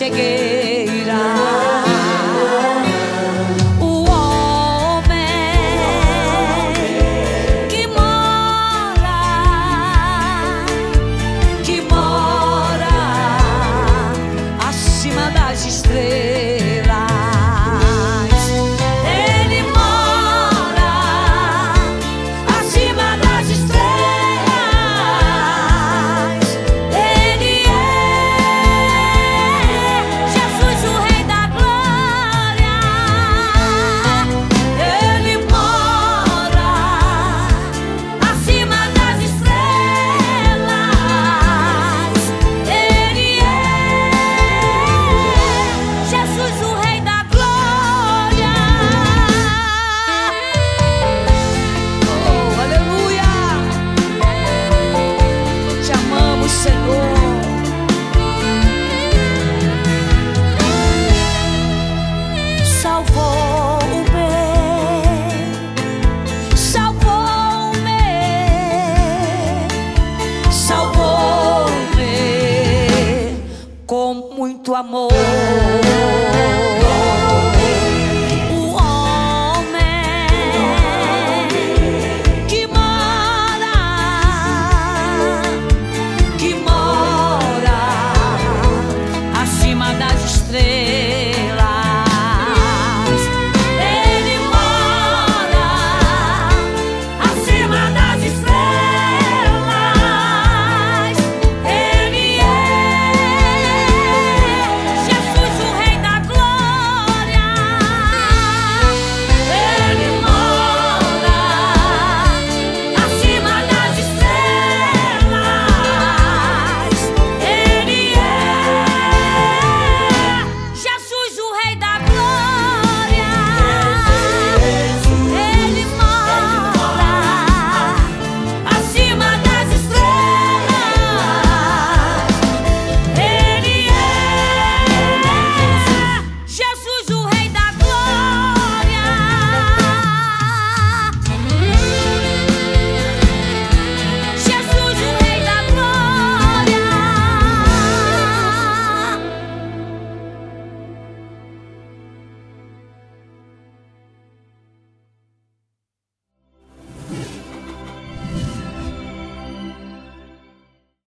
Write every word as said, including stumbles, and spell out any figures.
cegueira. O homem que mora, que mora acima das estrelas. Ele mora acima das estrelas. Ele é Jesus, o Rei da Glória. Ele mora acima das estrelas. Ele é Jesus, o Rei da Glória. Oh, aleluia! Te amamos, Senhor. Salvou-me, salvou-me, salvou-me com muito amor. O homem que mora, que mora acima das estrelas.